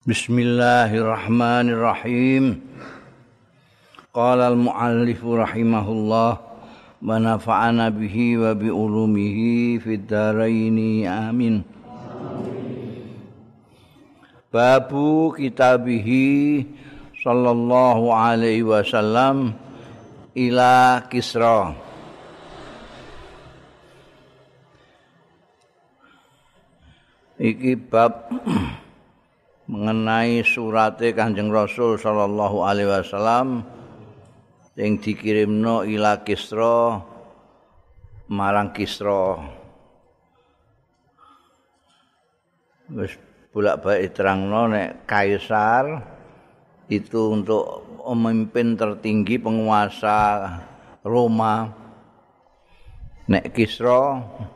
Bismillahirrahmanirrahim. Qala al-muallif rahimahullah wa nafa'ana bihi wa bi ulumihi fid dharain amin. Babu kitabihi sallallahu alaihi wasallam ila Kisra. Iki bab mengenai surate Kanjeng Rasul sallallahu alaihi wasallam sing dikirimno ila Kisra marang Kisra. Wis bolak-balik terangno nek kaisar itu untuk pemimpin tertinggi penguasa Roma. Nek Kisra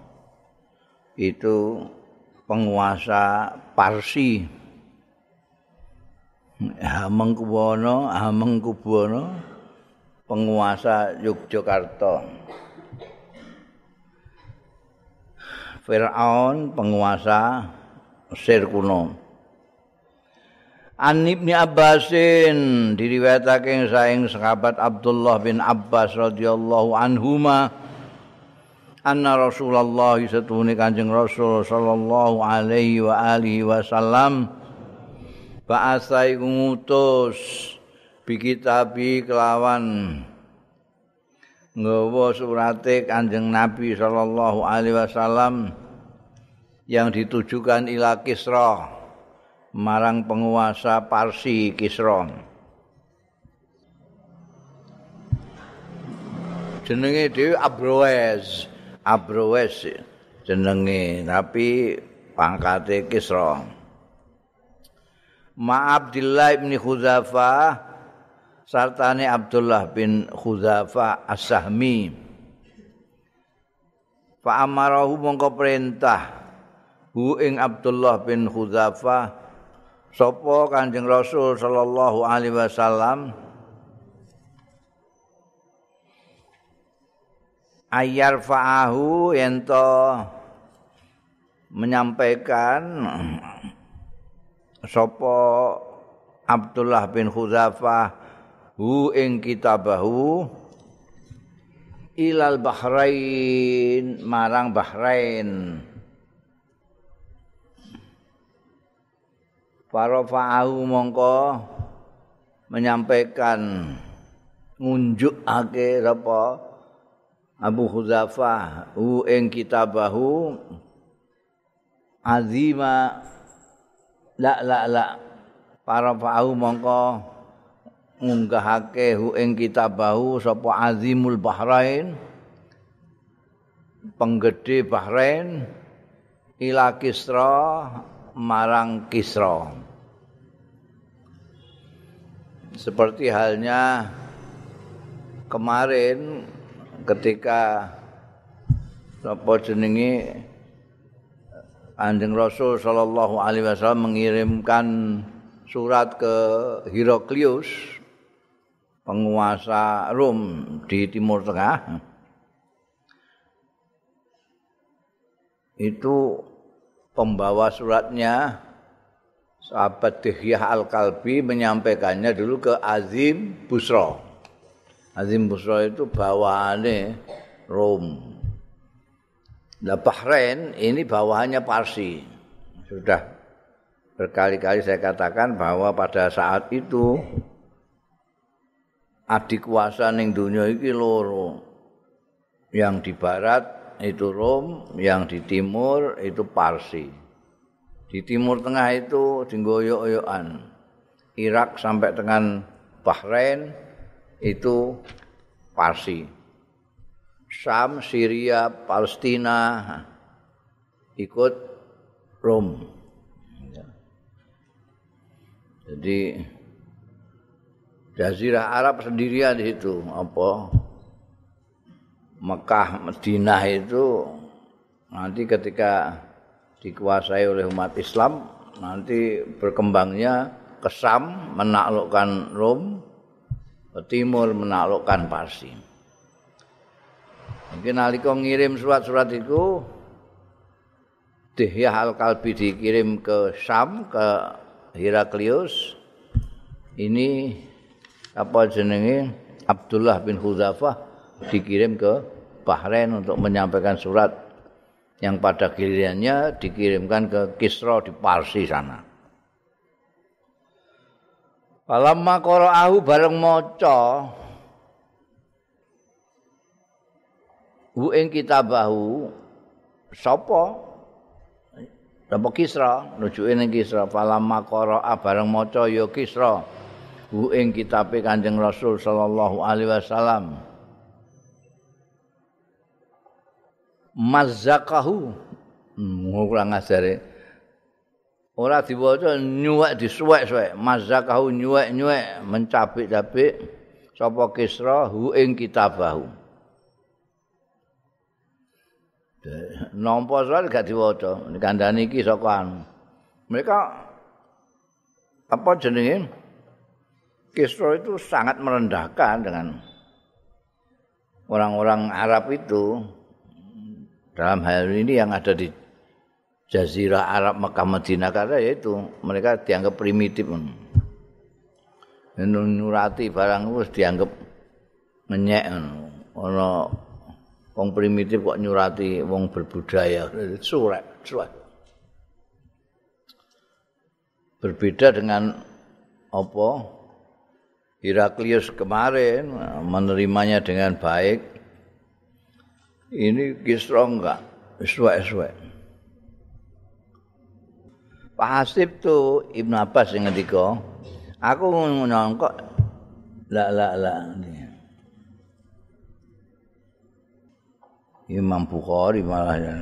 itu penguasa Parsi. Hamengkubuwono penguasa Yogyakarta. Firaun penguasa Mesir kuno. An Ibnu Abbasin diriwayatake saking sahabat Abdullah bin Abbas radhiyallahu anhuma anna Rasulullah satune Kanjeng Rasul sallallahu alaihi wa alihi wasallam ba'asai ngutus bikitabi kelawan nggawa surate Kanjeng Nabi sallallahu alaihi wasallam yang ditujukan ila Kisra marang penguasa Parsi Kisra. Jenenge dhewe Abrowes jenenge tapi pangkate Kisra. Abdullah bin Khudzafah sartane Abdullah bin Khudzafah As-Sahmi. Fa amarahu mongko perintah hu ing Abdullah bin Khudzafah sapa Kanjeng Rasul sallallahu alaihi wasallam ayar fa'ahu ento menyampaikan sapa Abdullah bin Khudzafah hu ing kitabahu ilal Bahrain marang Bahrain. Farafa'ahu mongko menyampaikan ngunjukake sapa Abu Khudzafah hu ing kitabahu azima la para fa'u mongko ngunggahake hu ing kitabahu sapa azimul Bahrain penggede Bahrain ila Kisra marang Kisra. Seperti halnya kemarin ketika sapa jenenge Kanjeng Rasul sallallahu alaihi wasallam mengirimkan surat ke Heraklius, penguasa Rom di Timur Tengah. Itu pembawa suratnya sahabat Dihyah Al-Kalbi menyampaikannya dulu ke Azim Busra. Azim Busra itu bawahannya Rom. Nah, Bahrain ini bawahannya Parsi. Sudah berkali-kali saya katakan bahwa pada saat itu adik kuasa ning donya iki loro. Yang di barat itu Rom, yang di timur itu Parsi. Di timur tengah itu dinggoyok-oyokan. Irak sampai dengan Bahrain itu Parsi. Syam, Syria, Palestina ikut Rom. Jadi Jazirah Arab sendirian di situ. Apa? Mekah, Madinah itu nanti ketika dikuasai oleh umat Islam nanti berkembangnya ke Syam menaklukkan Rom, ke timur menaklukkan Parsi. Mungkin nalika ngirim surat-surat itu Dihyah Al-Kalbi dikirim ke Syam, ke Heraklius ini apa jenenge Abdullah bin Hudzafah dikirim ke Bahrain untuk menyampaikan surat yang pada gilirannya dikirimkan ke Kisra di Parsi sana. Falamma qara'ahu bareng maca hu ing kitabahu sapa Kisra nujuke ning Kisra falamma qara'a bareng maca ya Kisra hu ing kitabe Kanjeng Rasul sallallahu alaihi wasallam mazzaqahu kurang ajare ora diwaca nyuwek disuwek-suwek mazzaqahu nyuwek-nyuwek mencapik-capik sapa Kisra hu ing kitabahu nampa soal gak diwaca kandhane iki saka mereka apa jenenge Kisra itu sangat merendahkan dengan orang-orang Arab itu dalam hal ini yang ada di Jazirah Arab Mekah Madinah karena yaitu mereka dianggap primitif. Nyurati barang wis dianggap ngenyek ana wong primitif kok nyurati wong berbudaya surat. Berbeda dengan apa Heraklius kemarin menerimanya dengan baik. Ini Kisra enggak suwek-suwek. Pasif tu Ibnu Abbas yang ngendika, aku nyangka la. Imam Bukhari malah ya.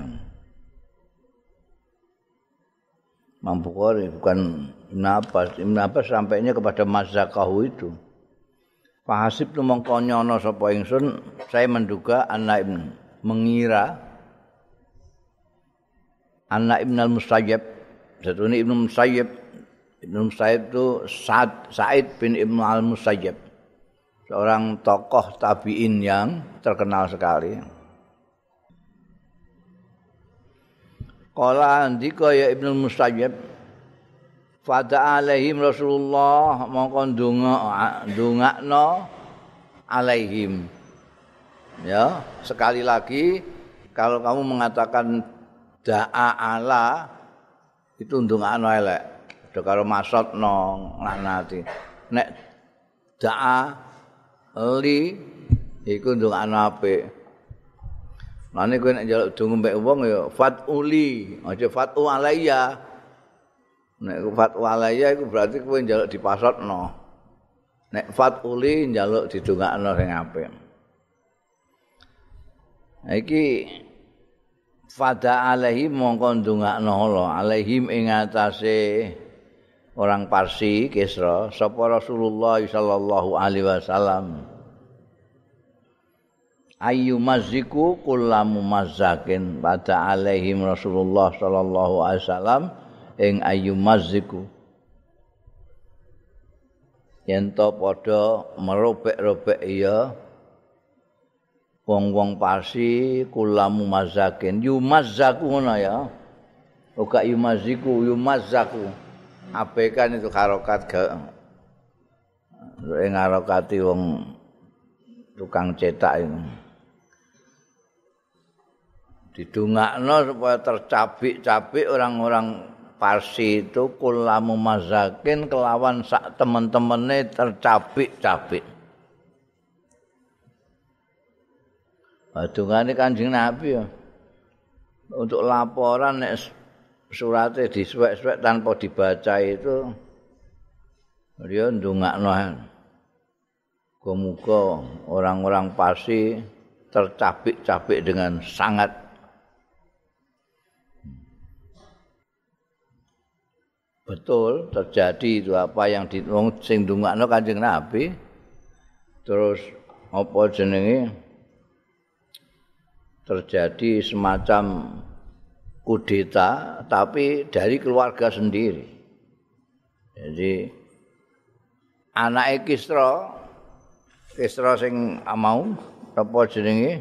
Imam Bukhari bukan Ibnu Abbas. Ibnu Abbas sampainya kepada Mazzaqahu itu. Pasif tu mongko nyono sapa ingsun, saya menduga anak mengira anak Ibnu al-Musayyib Satune Ibnu Musayyib itu Sa'id bin Ibnu al-Musayyib, seorang tokoh tabi'in yang terkenal sekali. Qala andika ya Ibnu Musayyib fada alaihim Rasulullah mongko ndongakno alaihim. Ya, sekali lagi kalau kamu mengatakan da'a ala itu ndongakno elek. Ada karo maksudno nglanati. Nek da'a li iku ndongakno apik. Mane kowe nek njaluk donga mbek wong ya fatuli, aja fatu alayya. Nek fatu alayya iku berarti kowe njaluk dipasotno. Nek fatuli njaluk didongakno sing apik. Iki fada alaihim mongko ndongakno Allah alaihim ing atase orang Parsi Kisra sapa Rasulullah sallallahu alaihi wasallam ayu maziku kullamu mazzakin fada alaihim Rasulullah sallallahu alaihi wasallam ing ayu maziku yen to padha merobek-robek ya wong-wong Parsi kulamu mazakin yumazzaku ngono ya. Ora yumaziku yumazzaku. Abekan itu harokat gak ngarokati wong tukang cetak itu. Didongakno supaya tercabik-cabik orang-orang Parsi itu kulamu mazakin kelawan sak temen-temene tercabik-cabik. Dungane Kanjeng Nabi ya. Untuk laporan nek surate disuwek-suwek tanpa dibaca itu dia ndongakno. Muga-muga orang-orang Parsi tercabik-cabik dengan sangat. Betul terjadi itu apa yang sing ndongakno Kanjeng Nabi. Terus apa jenenge? Terjadi semacam kudeta tapi dari keluarga sendiri. Jadi anake Kisra sing mau apa jenenge?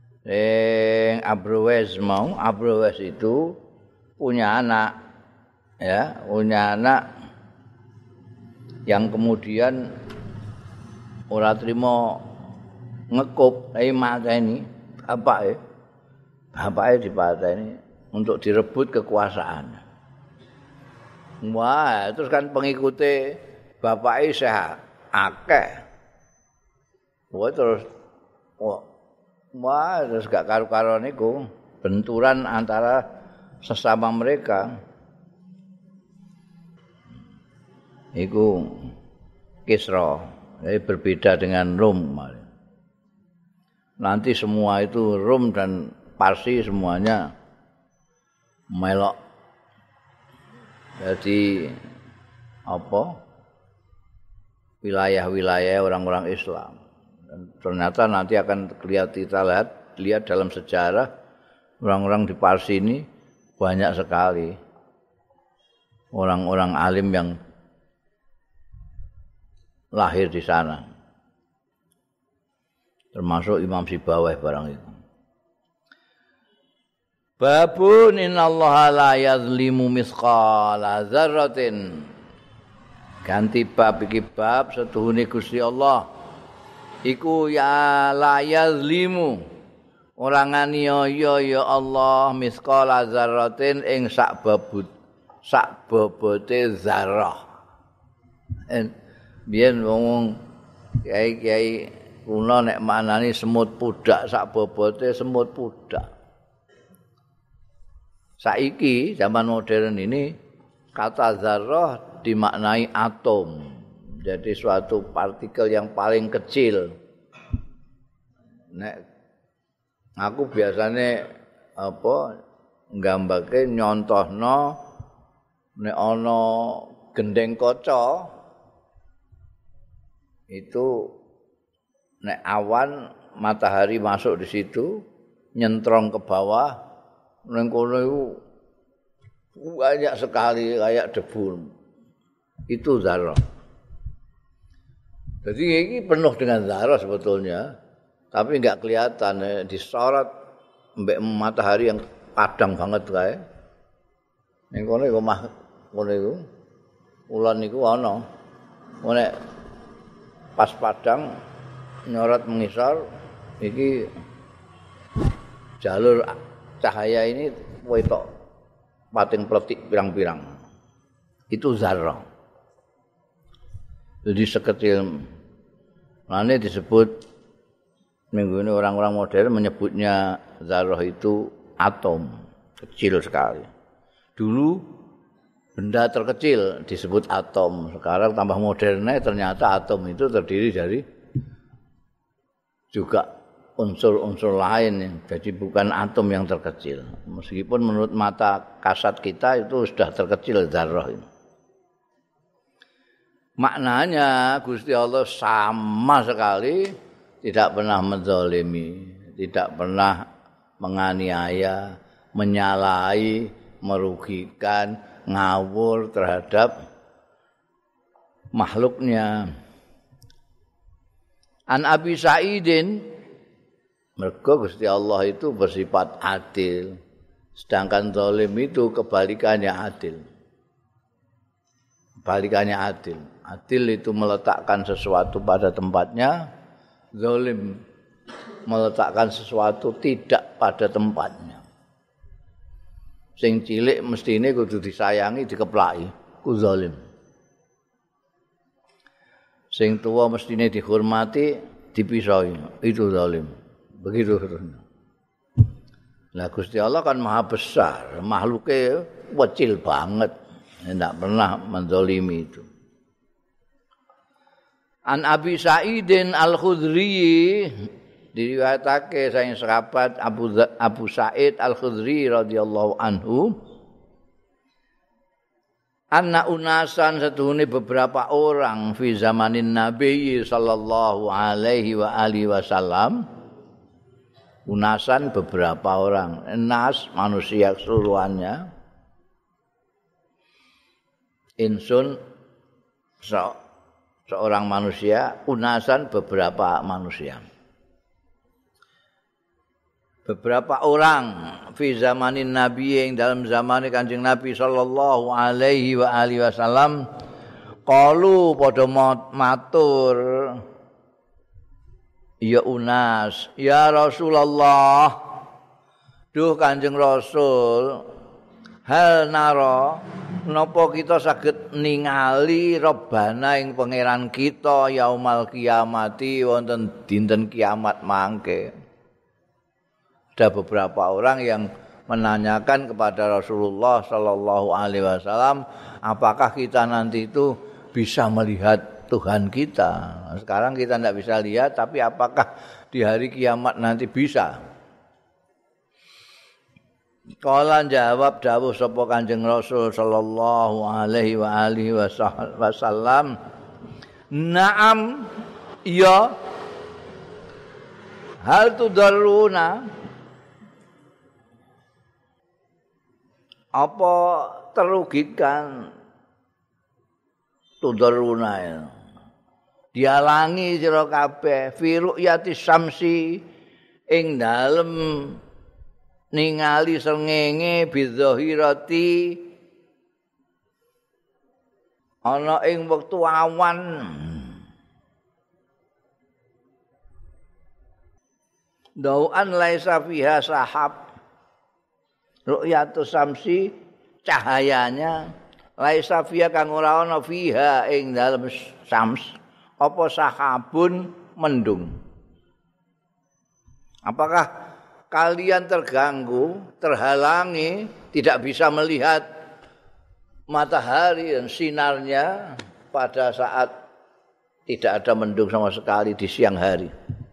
Abrowes itu punya anak ya, punya anak yang kemudian ora trimo ngekup, mateni bapake dipateni untuk direbut kekuasaan. Wah, terus kan pengikute bapake isih akeh. Terus gak karu-karuan iku benturan antara sesama mereka. Iku Kisra, jadi berbeda dengan Rom. Nanti semua itu Rom dan Parsi semuanya melok. Jadi wilayah-wilayah orang-orang Islam. Dan ternyata nanti akan kita lihat dalam sejarah orang-orang di Parsi ini banyak sekali orang-orang alim yang lahir di sana, termasuk Imam Sibawayh barang itu. Babun innallaha la yazlimu misqala dzarratin. Ganti bab iki bab setuhune Gusti Allah iku ya la yazlimu ora nganiaya ya Allah misqala dzarratin ing sak bobote zarah. Biyen ngomong kiai-kiai kuno nek manani semut pudak sak bobote semut pudak. Saiki zaman modern ini kata zarah dimaknai atom. Jadi suatu partikel yang paling kecil. Nek aku biasanya nggambake nyontohno nek ana gendeng kaca itu nek awan matahari masuk di situ nyentrong ke bawah ning kono iku banyak sekali kayak debu. Itu zarah. Jadi ini penuh dengan zarah sebetulnya, tapi enggak kelihatan disorot mbek matahari yang padang banget kae. Ning kono iku ngono iku. Ulan niku ana. Nek pas padang nyorot mengisor iki jalur cahaya ini wetok pating pletik pirang-pirang. Itu zarah. Jadi sekecil mana disebut minggu ini orang-orang modern menyebutnya zarah itu atom, kecil sekali. Dulu benda terkecil disebut atom, sekarang tambah modernnya ternyata atom itu terdiri dari juga unsur-unsur lain, jadi bukan atom yang terkecil. Meskipun menurut mata kasat kita itu sudah terkecil zarah ini. Maknanya Gusti Allah sama sekali tidak pernah menzalimi, tidak pernah menganiaya, menyalahi, merugikan, ngawur terhadap makhluknya. An Abi Sa'idin, mergo Gusti Allah itu bersifat adil, sedangkan zalim itu kebalikannya adil. Kebalikannya adil. Adil itu meletakkan sesuatu pada tempatnya, zalim meletakkan sesuatu tidak pada tempatnya. Sing cilik mestine kudu disayangi, dikeplaki, ku zalim. Sing tua mestine dihormati, dipisahi, itu zalim. Begitu terusnya. Lah Gusti Allah kan maha besar, makhluknya kecil banget, tidak pernah menzalimi itu. An Abi Sa'idin Al-Khudri diriwayatake saking sahabat Abu Sa'id Al-Khudri radhiyallahu anhu anna unasan setuhune beberapa orang fi zamanin Nabi sallallahu alaihi wa alihi wasallam. Unasan beberapa orang, nas manusia keseluruhannya. Insun seorang manusia, unasan beberapa manusia. beberapa orang fi zamanin Nabi yang dalam zaman Kanjeng Nabi sallallahu alaihi wa alihi wasallam qalu padha matur ya unas ya Rasulullah duh Kanjeng Rasul hal naro napa kita saged ningali Rabbana ing pangeran kita yaumal kiamati wonten dinten kiamat mangke. Ada beberapa orang yang menanyakan kepada Rasulullah sallallahu alaihi wasallam, apakah kita nanti itu bisa melihat Tuhan kita? Sekarang kita tidak bisa lihat, tapi apakah di hari kiamat nanti bisa? Kala jawab dawuh sapa Kanjeng Rasul sallallahu alaihi wa alihi wasallam, "Na'am, ya. Hal tudarruna?" Apa terugikan tudarruna ya? Dialangi sira kabeh fi ru'yati syamsi ing dalem ningali srengenge bidzahirati ana ing wektu awan dau'an laisa fiha sahab ru'yatus samsi cahayanya laisa fiha kang ora ana fiha ing dalem syams apa sahabun mendung. Apakah kalian terganggu, terhalangi, tidak bisa melihat matahari dan sinarnya pada saat tidak ada mendung sama sekali di siang hari?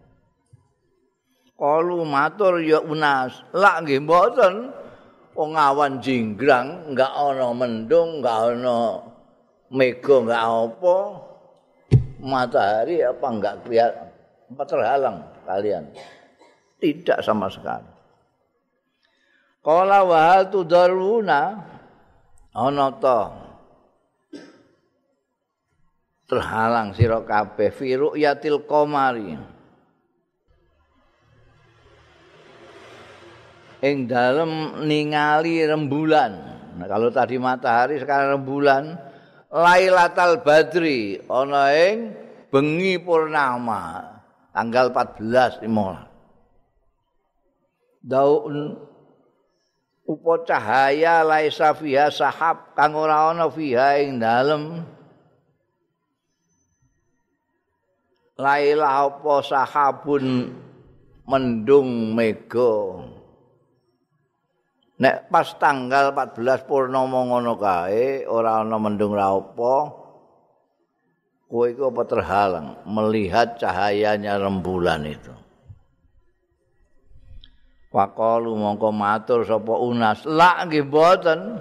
Qalu matur ya unas, lak nggih mboten. Wong awan jinggrang, enggak ana mendung, enggak ana mega, enggak apa. Matahari apa enggak kelihatan, apa terhalang kalian? Tidak sama sekali. Qala wa hal tudaruna ana ta terhalang sira kabeh fi ru'yatil qamari ing dalem ningali rembulan. Nah, kalau tadi matahari sekarang rembulan. Lailatul Badri ana ing bengi purnama tanggal 14 15. Daun upo cahaya laisa fiha sahab kang ora ana fiha ing dalem laila apa sahabun mendung mega. Nek pas tanggal 14 purnama ngono kae ora ana mendung ra apa, kowe iku apa terhalang melihat cahayanya rembulan itu. Waqalu mongko matur sapa unas, la nggih mboten.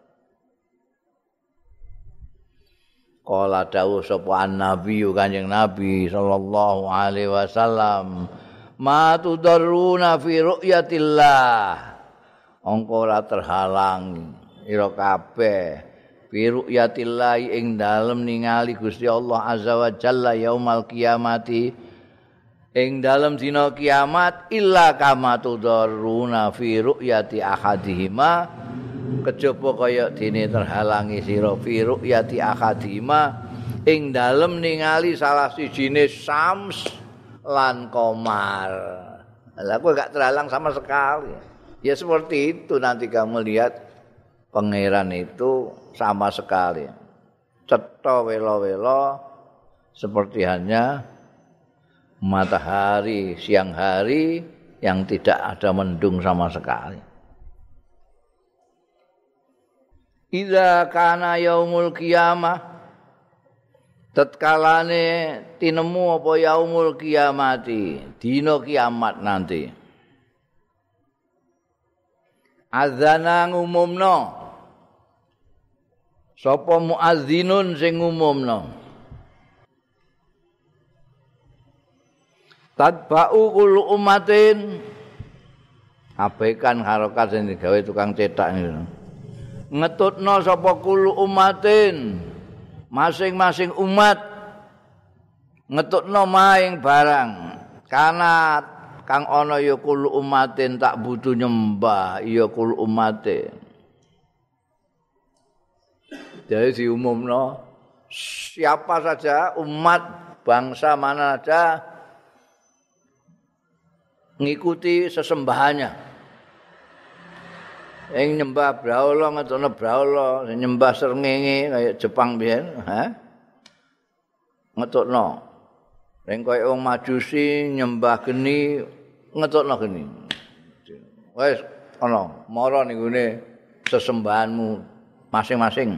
Kala dawuh sapa an-nabi Kanjeng Nabi sallallahu alaihi wasallam, ma tudarruna fi ru'yatillah. Angka ora terhalang ira kabeh fi ru'yatillahi ing dalem ningali Gusti Allah azza wa jalla yaumal kiamati ing dalem dina kiamat illa kama tudarruna fi ru'yati ahadihima kejaba kaya dene terhalangi sira fi ru'yati ahadihima ing dalem ningali salah sijine syams lan qamar. Lah kowe gak terhalang sama sekali. Ya seperti itu nanti kamu lihat pangeran itu sama sekali. Cetha welo-welo seperti hanya matahari siang hari yang tidak ada mendung sama sekali. Idza kana yaumul qiyamah tatkalane tinemu apa yaumul qiyamati dina kiamat nanti. Azana ngumumno sapa muazzinun sing ngumumno tadba'u kullu ummatin abaikan harokat sing digawe tukang cetak niku ngetutno sapa kullu ummatin masing-masing umat ngetutno maing barang kang ana ya kul umatin tak butuh nyembah ya kul umatin. Jadi diumumno siapa saja umat bangsa mana saja ngikuti sesembahannya. Yang nyembah brahala ngetokno brahala, nyembah srengenge kaya Jepang biyen, ngetokno. Yang kaya wong Majusi nyembah geni ngetokno geni. Wis ana mara ning gone sesembahanmu masing-masing.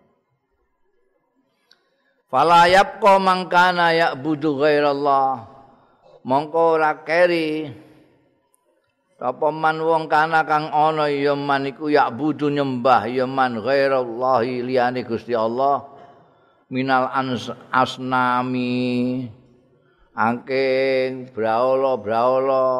Fala yabqa mangkana ya'budu ghairallah. Mongko ora keri apa man wong kana kang ana ya man iku ya'budu nyembah ya man ghairallahi liyane Gusti Allah minal asnami angking brahala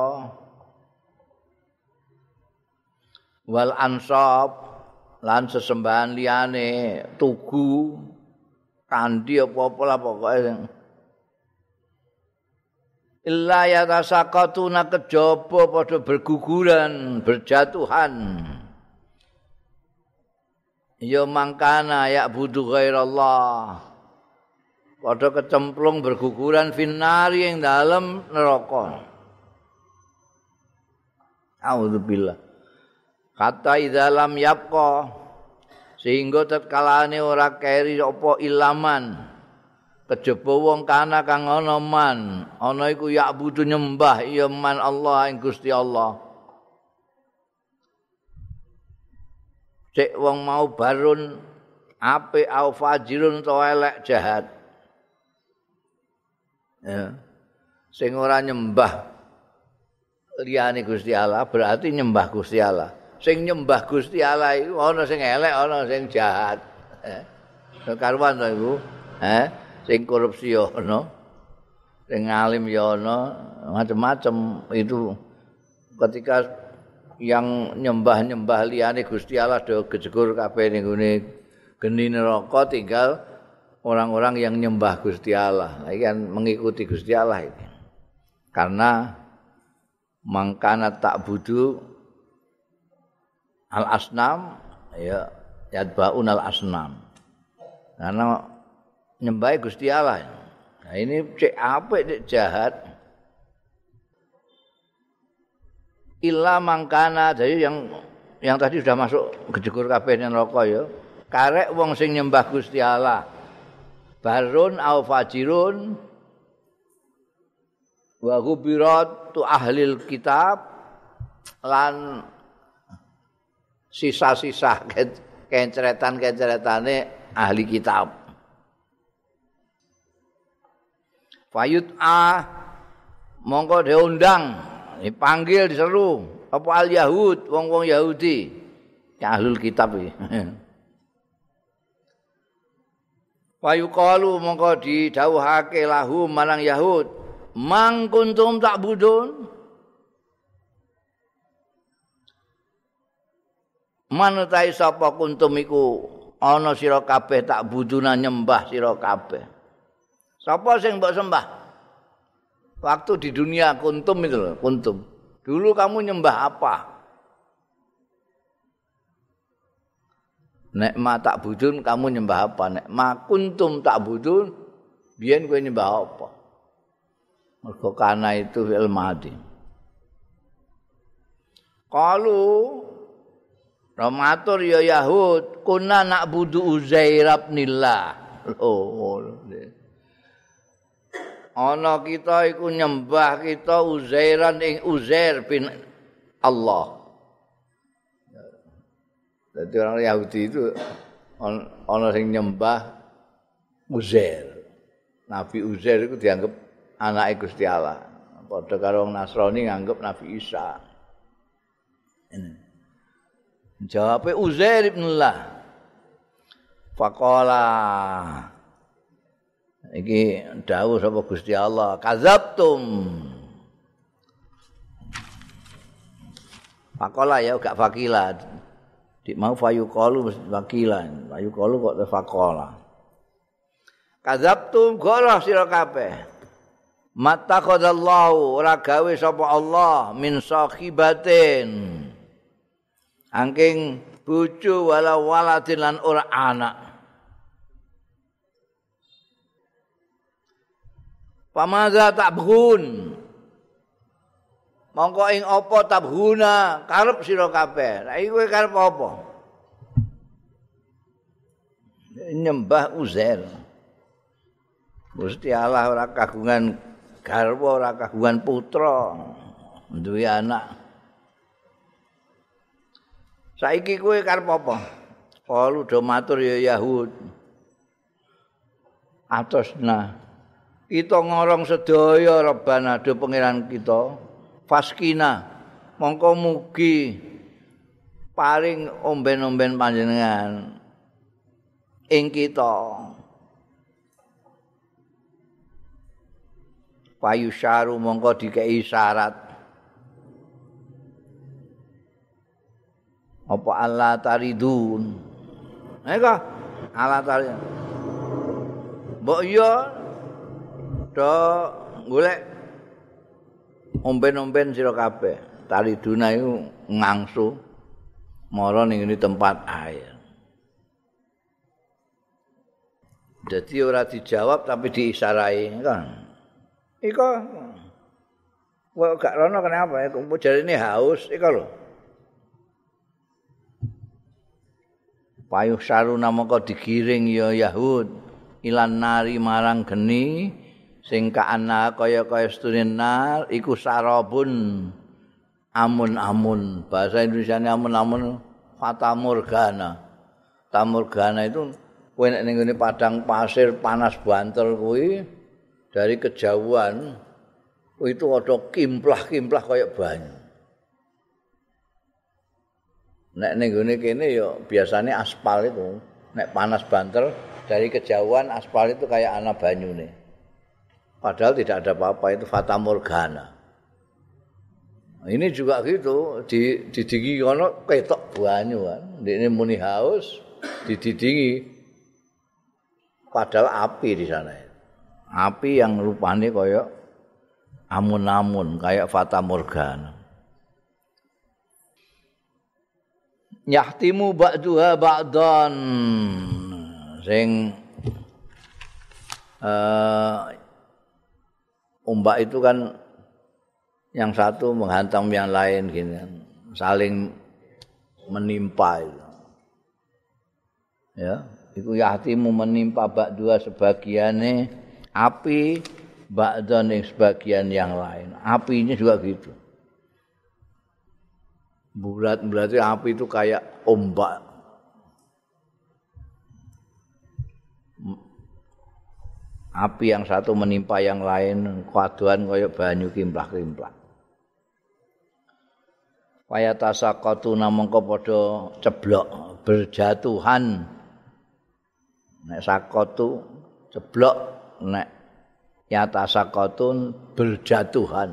wal ansab lan sesembahan liyane tugu kandi apa-apa lah pokoke illa yatasaqatuna kejaba padha berguguran berjatuhan ya mangkana ya budu ghairallah padha kecemplung berguguran finnari ing dalem neraka auzubillah kata idzalam yabqa sehingga tatkalane ora keri apa ilaman kejaba wong kana kang ana man ana iku ya budu nyembah ya man Allah ing Gusti Allah cek wong mau barun apik au fajirun to elek jahat ya sing ora nyembah liyane Gusti Allah berarti nyembah Gusti Allah sing nyembah Gusti Allah iku ana sing elek ana sing jahat karuan to iku sing korupsi ya ana, sing alim ya ana, macam-macam itu ketika yang nyembah-nyembah liyane Gusti Allah do gejegur kabeh ning gone geni neraka tinggal orang-orang yang nyembah Gusti Allah. Iki kan mengikuti Gusti Allah ini. Karena mangkana ta'budu al-asnam ya yadbaun al-asnam. Karena nyembah Gusti Allah. Nah ini cek apik cek jahat. Illa mangkana jadi yang tadi sudah masuk gejegur kabeh neraka ya. Karek wong sing nyembah Gusti Allah. Barun au fajirun wa ghubirat tu ahlil kitab lan sisa-sisa kencretan-kencretane ahli kitab. Fayut mongko diundang dipanggil diseru apa al yahud wong-wong Yahudi ahlul kitab iki Fayuqalu mongko didhawuhake lahu marang Yahud mang kuntum ta'budun manutai sapa kuntum iku ana sira kabeh ta'buduna nyembah sira kabeh. Sapa sing mbok sembah? Waktu di dunia kuntum itu loh, kuntum. Dulu kamu nyembah apa? Nek ma tak budun kamu nyembah apa? Nek ma kuntum tak budun biyen kowe nyembah apa? Mergo kana itu fi'il madhi. Qalu Ramatur ya Yahud kunna na'budu Uzair ibnillah. Ana kita iku nyembah kita Uzairan ing Uzair bin Allah. Jadi orang Yahudi itu ana sing nyembah Uzair. Nabi Uzair itu dianggap anake Gusti Allah. Padha karo wong Nasrani nganggep Nabi Isa. Ini. Jawabe Uzair bin Allah. Faqala iki dawuh sapa Gusti Allah, kadzabtum. Faqala ya gak fakila. Dik mau fayuqalu mesti wakilan. Fayuqalu kok faqala. Kadzabtum goroh sira kabeh. Mattakhadallahu ora gawe sapa Allah min sahibatin angking bojo wala waladin lan ora anak. Pamaza tabghun mongko ing apa tabghuna karep sira kabeh. Lah iki kowe karep apa? Nyembah Uzair. Gusti Allah ora kagungan garwa, ora kagungan putra, duwe anak. Saiki kowe karep apa? Kalu do matur ya Yahud. Atosna kita ngorong sedaya Rabbana do pangeran kita faskina mongko mugi paring omben-omben panjenengan ing kita payusyaru mongko dikei syarat apa Allah taridun eka Allah taridun mbok iya do golek omben-omben sira kabeh. Tariduna iku ngangsu mara ning tempat air. Jadi ora dijawab tapi diisarai kan. Iko kok gak rono kenapa ya? Kok jarine haus iko lho. Payuh saruna mongko digiring ya Yahud ilan nari marang geni sing kaana kaya-kaya sedune nar iku sarabun amun-amun. Bahasa Indonesiane amun-amun fatamorgana. Tamorgana itu kowe nek ning padang pasir panas banter kuwi dari kejauhan itu ada kimplah-kimplah kaya banyu. Nek ning gone kene ya biasane aspal itu. Nek panas banter dari kejauhan aspal itu kayak ana banyune. Padahal tidak ada apa-apa, itu fata morgana. Ini juga gitu, didingi kono ketok banyu kan. Ini muni haus, didingi. Padahal api di sana. Api yang rupanya kayak amun-amun, kayak fata morgana. Yahtimu ba'duha ba'dan. Sing ombak itu kan yang satu menghantam yang lain gini kan. Saling menimpa itu. Ya, itu yahtimu menimpa ba'dua sebagiannya api ba'dan yang sebagian yang lain. Apinya juga gitu. Berarti api itu kayak ombak. Api yang satu menimpa yang lain, kaduan kaya banyu kimplah-kimplah. Kaya tasaqatu namangka padha ceblok, berjatuhan. Nek sakatu ceblok, nek ya tasaqatun berjatuhan.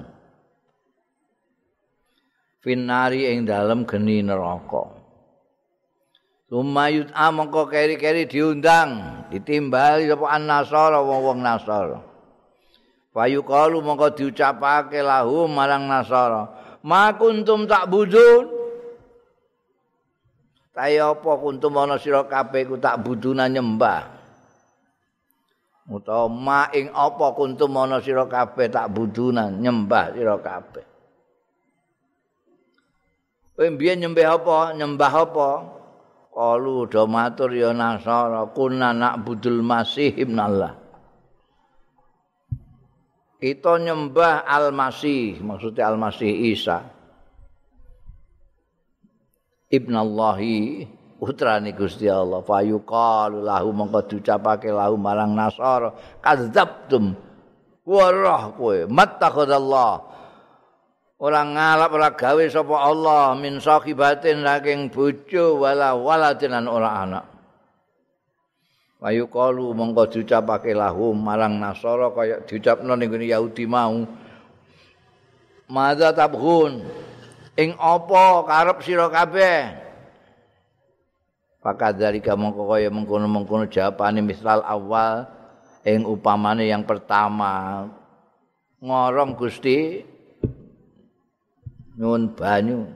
Finari ing dalem geni neraka. Sumayut mongko keri-keri diundang, ditimbali sapa an-nasara wong-wong Nasara. Fayuqalu mongko diucapake lahum marang Nasara, "Ma kuntum ta'budun?" Kaya apa kuntum ana sira kabeh ku ta'buduna nyembah. Utawa ma ing apa kuntum ana sira kabeh ta'buduna nyembah sira kabeh. Kowe mbiyen nyembah apa? Qalu do matur ya Nasara kunna na'budul Masih ibnallah. Kita nyembah Al-Masih, maksudnya Al-Masih Isa. Ibnallahi putrane Gusti Allah. Fa yuqalu lahu mongko diucapake lahu marang Nasara kadzabtum. Warah kowe mattakhadallah. Ora ngalap ora gawe sapa Allah min sahibatin saking bojo wala waladin lan ora anak. Wa yuqalu mongko diucapake lahum marang Nasara kaya diucapno ning ngene Yahudi mau. Madza tabghun ing apa karep sira kabeh? Pakadzalika mongko kaya mengkono-mengkono jawabane misal awal ing upamane yang pertama. ngorong Gusti nyuwun banyu.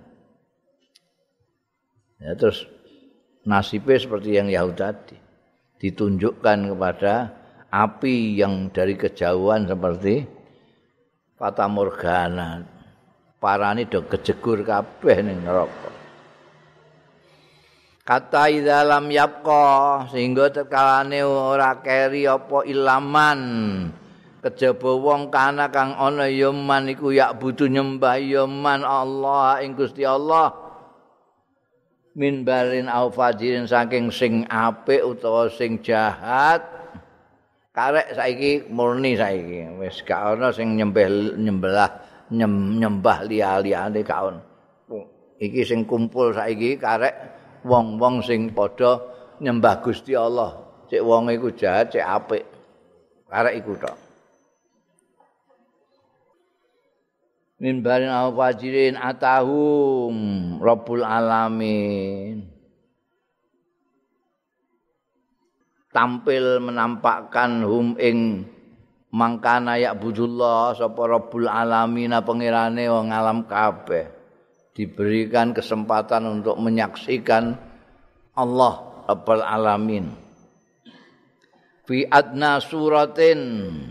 Ya terus nasibnya seperti yang Yahud tadi. Ditunjukkan kepada api yang dari kejauhan seperti Fata Morgana. Parane do kejegur kabeh ning neraka. Kata dalam yapqa sehingga terkalane ora keri apa ilaman kejaba wong kana kang ana ya man iku yak butuh nyembah ya man Allah ing Gusti Allah min barin au fajirin saking sing apik utawa sing jahat karek saiki murni saiki wis gak ana sing nyembah liya-liyane gak ono iki sing kumpul saiki karek wong-wong sing padha nyembah Gusti Allah cek wong iku jahat cek apik karek iku tok min barin au fajirin atahum Rabbul Alamin tampil menampakkan hum ing mangkana ya budullah sapa Rabbul Alamin pangerane wong alam kabeh diberikan kesempatan untuk menyaksikan Allah Rabbul Alamin fi adna suratin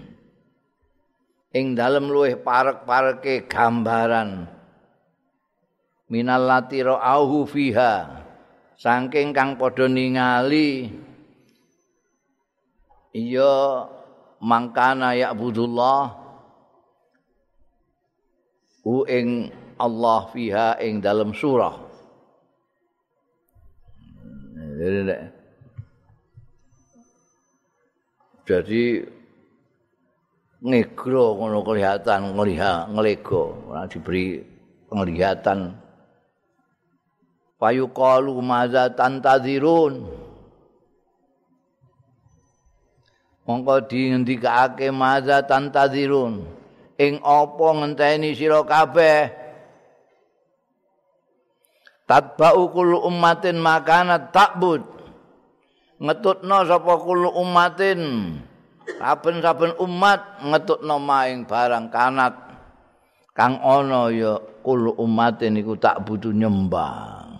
ing dalem luweh parek-pareke gambaran minallati ra'auhu fiha saking kang padha ningali iya mangkana ya'budullah ing Allah fiha ing dalem surah jadi ngegro ngono kelihatan ngelego ora diberi penglihatan fayuqalu madza tantadzirun mongko dingendikake madza tantadzirun ing apa ngenteni sira kabeh tatba'u kullu ummatin makanat ta'bud ngetutna sapa kullu ummatin saben-saben umat ngetutno maing barang kanat kang ana ya kul umatin iku tak butuh nyembah.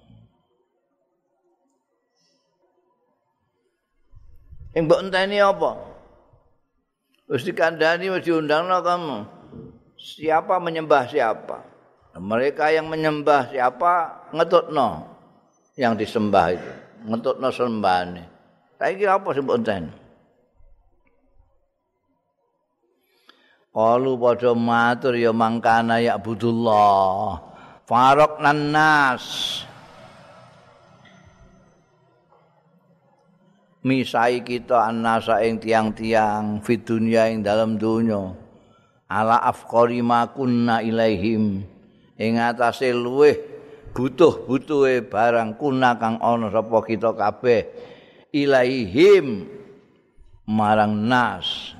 Ing mbok enteni apa? Wis dikandani wis diundangno kamu. Siapa menyembah siapa? Mereka yang menyembah siapa ngetutno yang disembah itu. Ngetutno sembahane. Saiki apa sing mbok enteni? Qalu padha matur ya mangkana ya budullah faraqnan nas misai kita annasa ing tiang-tiang fid dunya ing dalam donya ala afqari ma kunna ilaihim ing atase luweh butuh-butuhe barang kuna kang ana sapa kita kabeh ilaihim marang nas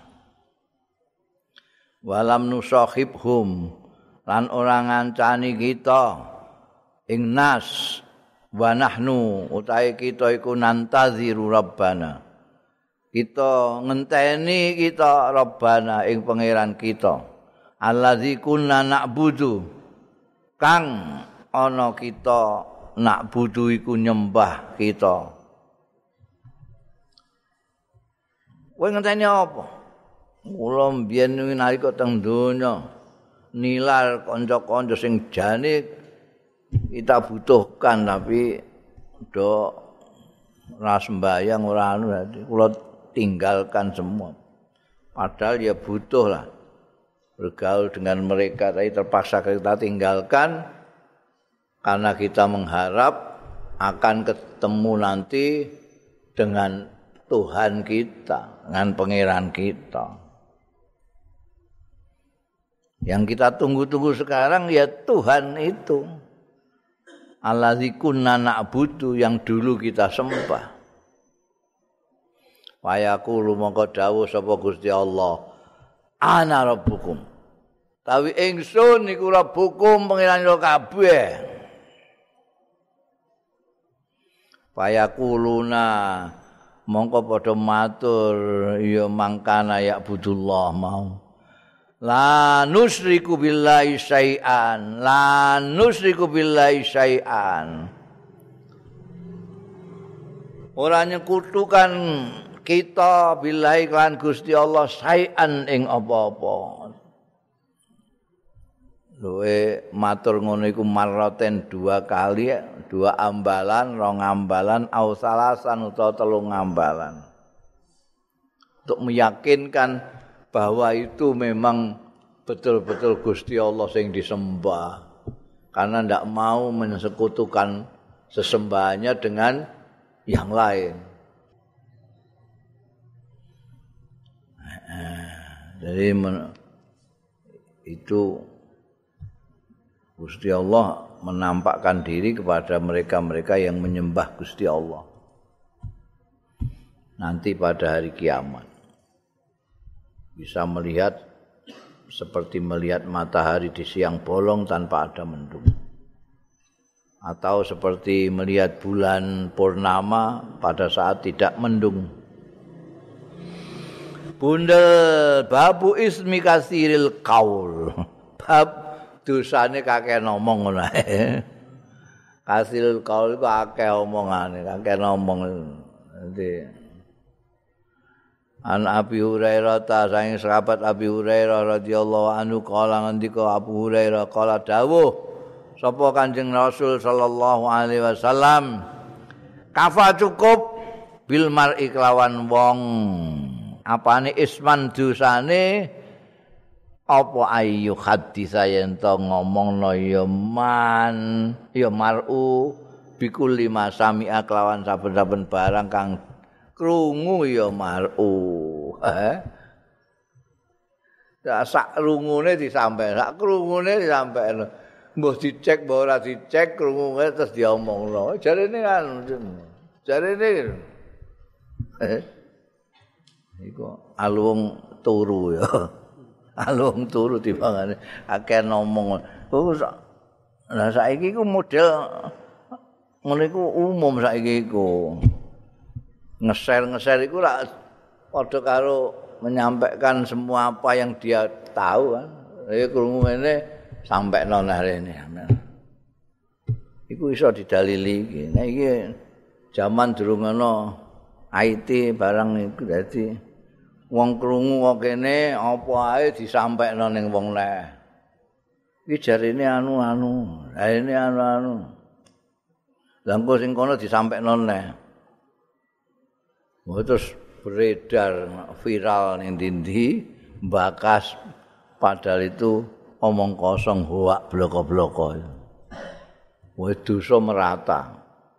walam nusahibhum lan ora ngancani kita ing nas wa nahnu utahe kita iku nantaziru rabbana kita ngenteni kita rabbana ing pangeran kita allazi kunna na'budu kang ana kita na'budu iku nyembah kita kowe ngenteni apa? Kula mbiyen nalika teng donya nilar kanca-kanca sing jane kita butuhkan tapi do ora sembayang ora anu kula tinggalkan semua. Padahal ya butuh lah bergaul dengan mereka tapi terpaksa kita tinggalkan karena kita mengharap akan ketemu nanti dengan Tuhan kita, dengan pangeran kita. Yang kita tunggu-tunggu sekarang ya Tuhan itu. Allazi kunna na'budu yang dulu kita sembah. Wa yaqulu mongko dawuh sapa Gusti Allah, ana rabbukum. Tawi ingsun iku rabbukum pangeran sira kabeh. Fa yaquluna mongko padha matur ya mangkana ya budullah mau. La nusyriku billahi syai'an. La nusyriku billahi syai'an. Ora nyekutukan kita billahi lan Gusti Allah syai'an ing apa-apa. Luwe matur ngono iku marraten 2 kali, 2 ambalan, 2 ambalan, au salasan utawa 3 ambalan. Untuk meyakinkan bahwa itu memang betul-betul Gusti Allah sing disembah. Karena ndak mau mensekutukan sesembahannya dengan yang lain. Jadi itu Gusti Allah menampakkan diri kepada mereka-mereka yang menyembah Gusti Allah. Nanti pada hari kiamat. Bisa melihat seperti melihat matahari di siang bolong tanpa ada mendung. Atau seperti melihat bulan purnama pada saat tidak mendung. Bundel babu ismi kasiril qaul. Bab dosane kakek ngomong ngono ae. Kasiril qaul iku akeh omongane, kakek ngomong. Nanti An Abi Hurairah ta saking sahabat Abi Hurairah radhiyallahu anhu kala ngendika Abu Hurairah kala dawuh sapa Kanjeng Rasul sallallahu alaihi wasallam kafa cukup bil mar'i kelawan wong apane isman dosane apa ayu hadisa yen to ngomongno ya man ya mar'u bikul lima sami'a kelawan saben-saben barang kang krungu ya mar'u. Sak krungune disampaikan, sak krungune disampaikan. Mbah dicek, mbah ora dicek, krungune terus diomongno. Jarene kan. Jarene. Iku alung turu ya. Alung turu timbangane akeh ngomong. Lah saiki iku model ngono iku umum saiki iku. Ngeser-ngeser iku lak padha karo menyampaikan semua apa yang dia tahu kan. Ya krungu ngene sampekno nang rene. Iku iso didalili iki. Nek iki jaman durung ana IT barang iku dadi wong krungu kok kene apa ae disampekno ning wong leh. Iki jarine anu-anu, jarine anu-anu. Lah engko sing kono disampekno neh. Terus beredar viral ning ndi mbakas padahal itu omong kosong hoak bloko-bloko. Wis dosa merata.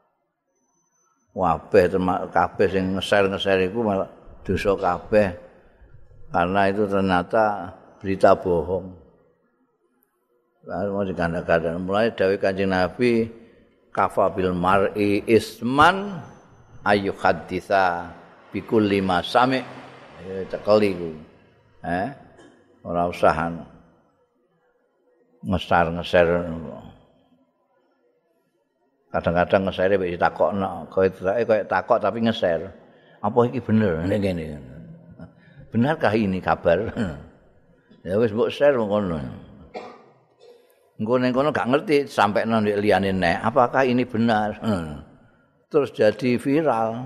Kabeh sing ngeser-ngeser iku malah dosa kabeh karena itu ternyata berita bohong. Mau dikandang-kandang mulai dawuh Kanjeng Nabi kafa bil mar'i isman ayu haditsa bikul lima sami cekeli ku. Ora usah ngeser-ngeser. Kadang-kadang ngesere wis ditakokno, koyo takok tapi ngeser. Apa iki bener ngene. Benarkah ini kabar? Ya wis mbok share ngono. Engko ning kono gak ngerti sampekno ndek liyane nek apakah ini benar. Terus jadi viral.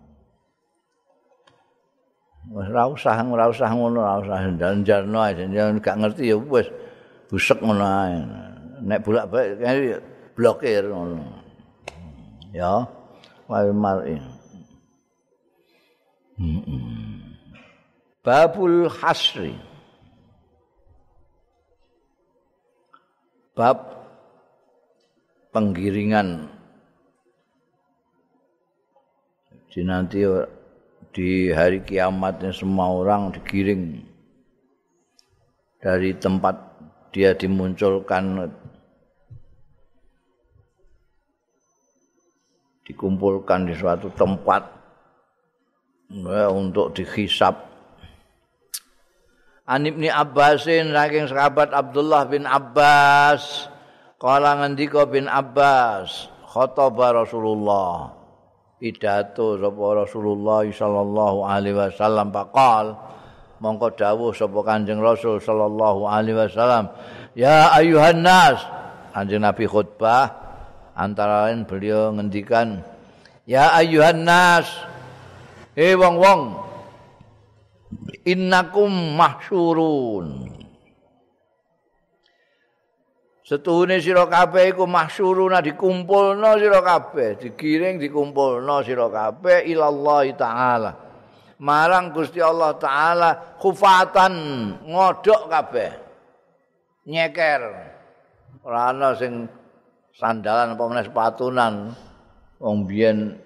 Ora usah ngono, ora usah njalno ae, gak ngerti ya wis busek ngono ae. Nek bolak-balik blokir ngono. Ya, wae mar'i. Babul hasri. Bab penggiringan. Jadi nanti di hari kiamatnya semua orang digiring dari tempat dia dimunculkan, dikumpulkan di suatu tempat untuk dihisab. An Ibnu Abbasin saking sahabat Abdullah bin Abbas kala ngendika bin Abbas khotbah Rasulullah pidato sapa Rasulullah sallallahu alaihi wasallam faqal mongko dawuh sapa Kanjeng Rasul sallallahu alaihi wasallam, ya ayuhan nas. Kanjeng Nabi khutbah antara lain beliau ngendikan, ya ayuhan nas, wong-wong, innakum mahsyurun. Setuhune sira kabeh iku mahsyuruna dikumpulna sira kabeh, digiring dikumpulna sira kabeh ilallah taala. Marang Gusti Allah taala khufatan ngodhok kabeh. Nyeker. Ora ana sing sandalan apa meneh sepatunan. Wong biyen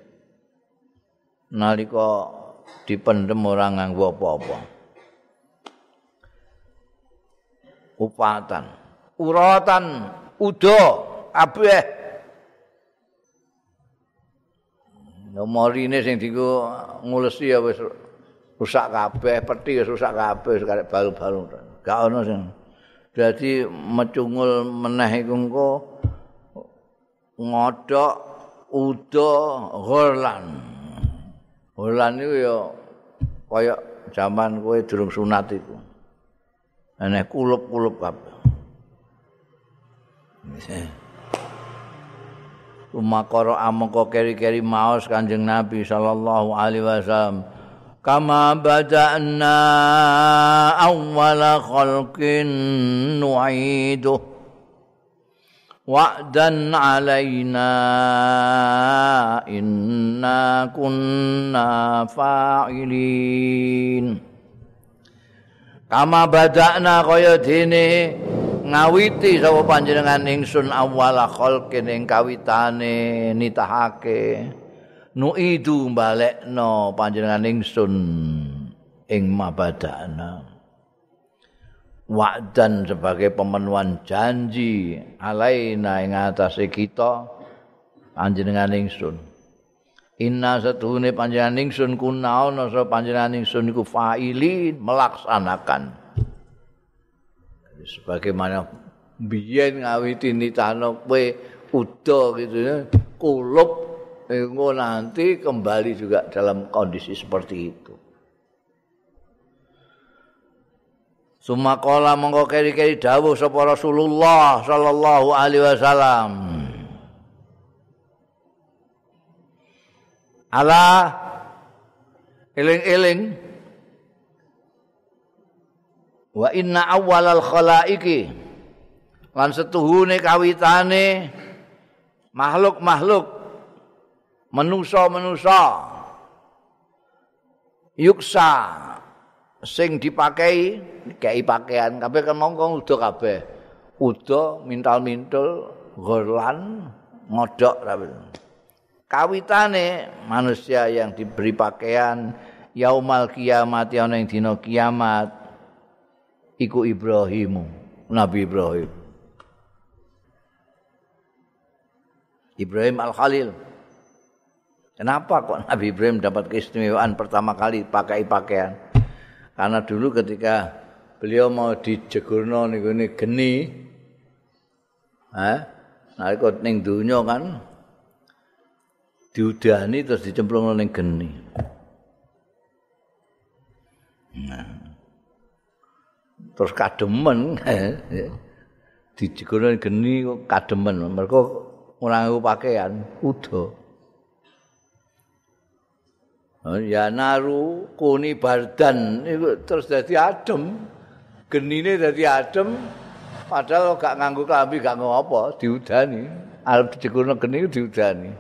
nalika dipendhem ora nganggo apa-apa. Khufatan uratan udo kabeh nomorine sing dienggo ngulesi ya wis rusak kabeh, peti wis rusak kabeh, wis karek balu-balu. Gak ono sing. Dadi mecungul meneh iku engko ngodhok udo ghorlan. Ghorlan niku ya kaya jaman kowe durung sunat iku. Aneh kulup-kulup kabeh. Umakara amangka keri-keri maos Kanjeng Nabi sallallahu alaihi wasallam, kama bada'na awwala khalqin nu'idu wa'dan 'alaina inna kunna fa'ilin. Kama bada'na kaya dene ngawiti sapa panjenengan ingsun awala khalqin ing kawitane nitahake nuidu balekno panjenengan ingsun ing mabadana wa'dan sebagai pemenuhan janji alaina ing atase kita panjenengan ingsun inna satuhune panjenengan ingsun kuna ana sapa panjenengan ingsun iku fa'ilin melaksanakan sebagaimana biyen ngawiti nitano kowe uda gitu ya kulup engko nanti kembali juga dalam kondisi seperti itu. Sumakola mongko keri-keri dawuh sapa Rasulullah sallallahu alaihi wasallam. Ala eling-eling wa inna awwalal khalaiqi lan setuhune kawitane makhluk-makhluk manusa-manusa yuksa sing dipakai kei pakaian kabeh kan mongko uda kabeh uda mintal-mintul ghorlan ngodhok kabeh kawitane manusia yang diberi pakaian yaumal kiamat ana ing dina kiamat iku Ibrahim, Nabi Ibrahim. Ibrahim Al-Khalil. Kenapa kok Nabi Ibrahim dapat keistimewaan pertama kali pakai pakaian? Karena dulu ketika beliau mau dijegurno niku geni, nalika ning donya kan diudani terus dicemplungno ning geni. Terus kademen dijegono geni kok kademen mergo ora nganggo pakaian uda ya naru kuni bardan iku terus dadi adem genine dadi adem padahal gak nganggo klambi gak ngopo diudani arep dijegono geni diudani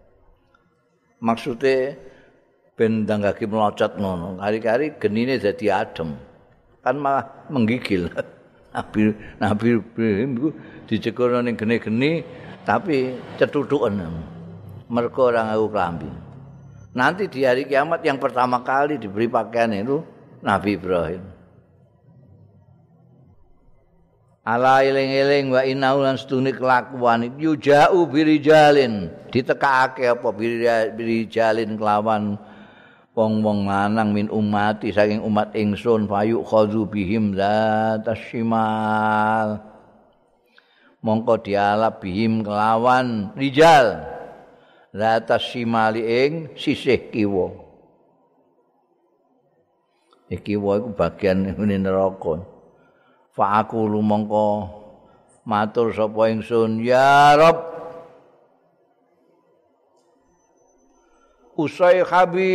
maksude ben ndanggake melocot ngono kari-kari genine dadi adem kan malah menggigil. Nabi Ibrahim iku dicekono ning geni-geni tapi cethutuken. Mergo ora nganggo klambi. Nanti di hari kiamat yang pertama kali diberi pakaian itu Nabi Ibrahim. Ala eling-eling wa innahu lan setune kelakuan yuja'u birijalin ditekake apa birijalin kelawan wong-wong lanang min umati saking umat ingsun fayu khadzu bihim zatasyimal mongko dialap bihim kelawan rijal zatasyimali ing sisih kiwa Iki wa iku bagian ngene neraka. Fa aku lumangka matur sapa ingsun ya Rabb Usayhabi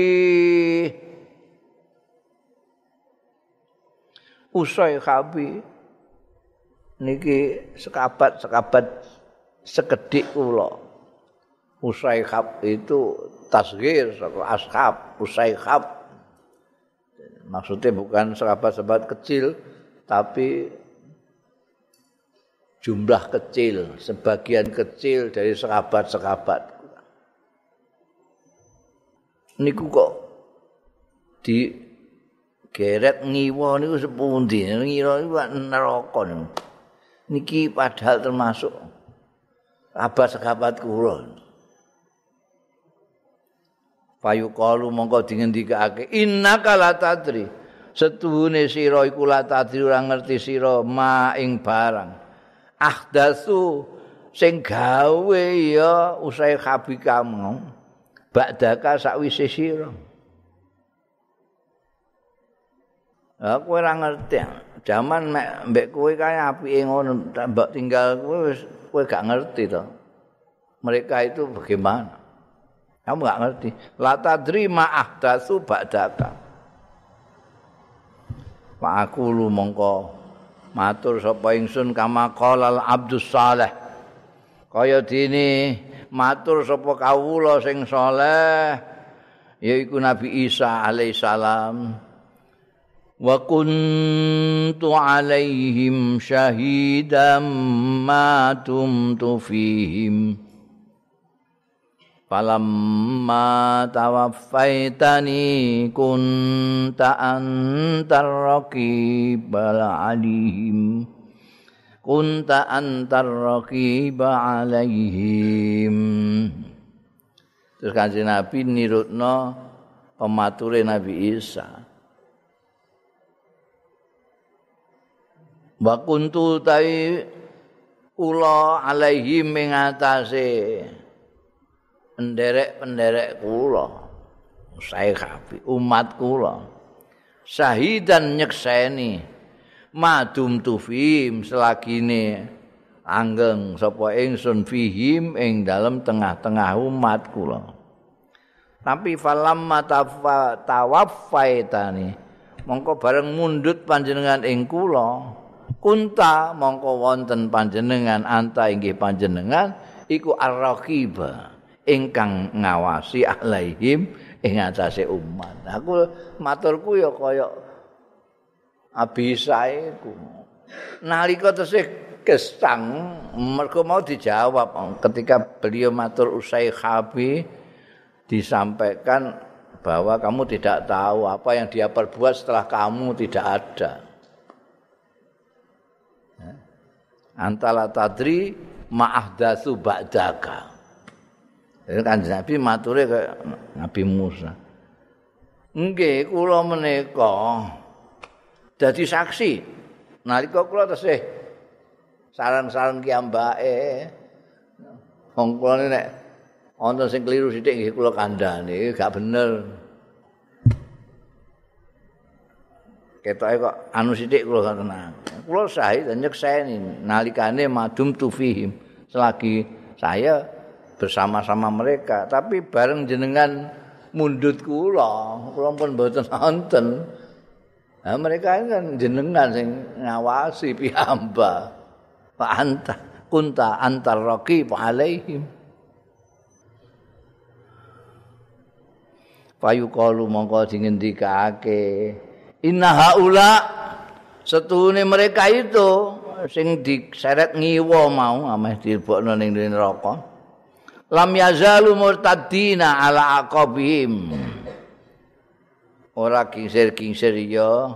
niki sekabat sekedhik kula. Usayhab itu tasghir saka ashab, usayhab. Maksudnya bukan sahabat-sahabat kecil tapi jumlah kecil, sebagian kecil dari sahabat-sahabat. Niku kok di geret ngiwa niku sepundi? Ngira iku neraka niku. Niki padahal termasuk sahabat kula. Fayuqalu mongko dingendikake innaka la tadri. Setuhune sira iku la tadri ora ngerti sira ma ing barang. Ahdatsu sing gawe ya usai khabi kamu. Ba'daka sakwise sira. Aku ora ngerti. Zaman mbek kowe kae apike ngono, mbok tinggal kowe gak ngerti to. Mereka itu bagaimana? Kamu gak ngerti. La tadri ma ahdatsu ba'daka. Pak aku lu mongko matur sapa ingsun kama qalal abdus saleh. Kaya dene matur sapa kawula sing saleh yaiku Nabi Isa alaihissalam. Wa kuntu alaihim syahidan ma dumtu fihim. Falamma tawaffaitani kunta antar raqibal alaihim kunta antar raqiba alaihim. Terus Kanjeng Nabi nirutno pemature Nabi Isa. Wa kuntu tai kula alaihim ing atase penderek kula saya kabeh umat kula syahidan nyekseni madum tu fihim selagine anggeng sapa ingsun fihim ing dalem tengah-tengah umat kula tapi falamma tawaffaitani mongko bareng mundhut panjenengan ing kula kunta mongko wonten panjenengan anta inggih panjenengan iku ar-raqiba ingkang ngawasi alaihim ing atase umat. Aku maturku ya kaya abisae ku. Nalika tesih gesang mergo mau dijawab ketika beliau matur usai khabi disampaikan bahwa kamu tidak tahu apa yang dia perbuat setelah kamu tidak ada. Antala tadri ma'ahdatsu ba'daka. Kanjeng Nabi mature kaya Nabi Musa. Nggih, kula menika dadi saksi nalika kula tesih sareng-sareng kiambake. Wong kula nek wonten sing kliru sithik nggih kula kandhani, gak bener. Ketoke kok anu sithik kula gak tenang. Kula sahih dan nyekseni nalikane madum tu fihim selagi saya bersama-sama mereka, tapi bareng jenengan mundhut kula pun mboten wonten. Nah, mereka ini kan jenengan sing ngawasi piyambak. Fa anta kunta antar raqib alaihim. Fayuqalu mongko dingendikake inna haula setuhune mereka itu sing diseret ngiwa mau ameh dilebokno ning neraka. Lam yazalu murtaddina ala aqabihim. Ora kingsir-kingsir ya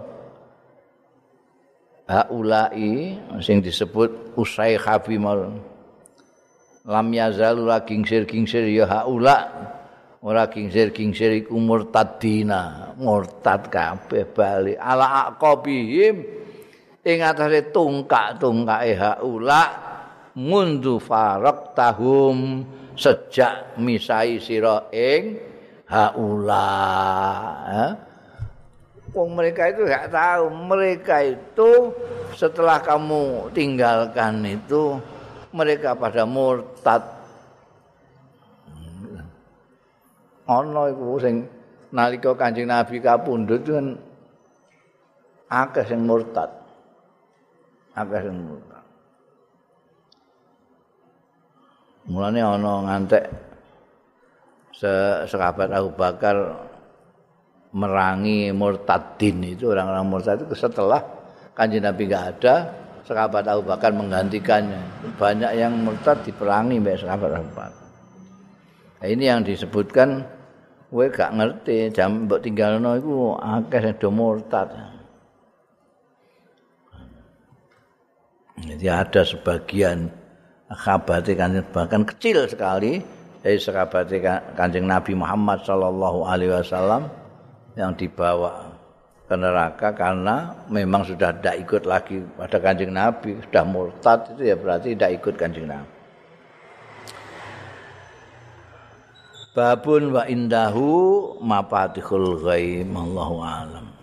haulai sing disebut usai khabi mal. Lam yazalu la kingsir-kingsir ya haula. Ora kingsir-kingsir iku murtaddina, murtad kabeh bali ala aqabihim ing atase tungkak-tungkake haula mundu faraqtahum sejak misai sira ing haula Wong mereka itu enggak tahu, mereka itu setelah kamu tinggalkan itu mereka pada murtad. Ana iku sing nalika Kanjeng Nabi kapundhut kan akeh sing murtad. Akeh sing murtad. Mulane ana ngantek sahabat Abu Bakar merangi murtadin itu orang-orang murtad itu setelah Kanjeng Nabi enggak ada, sahabat Abu Bakar menggantikannya. Banyak yang murtad diperangi mbek sahabat Abu Bakar. Nah, ini yang disebutkan kowe gak ngerti jam mbok tinggalno iku akeh sing do murtad. Jadi ada sebagian sahabat Kanjeng bahkan kecil sekali dari sahabat Kanjeng Nabi Muhammad sallallahu alaihi wasallam yang dibawa ke neraka karena memang sudah tidak ikut lagi pada Kanjeng Nabi, sudah murtad itu ya berarti tidak ikut Kanjeng Nabi. Babun wa indahu mafatihul ghaib, Allahu a'lam.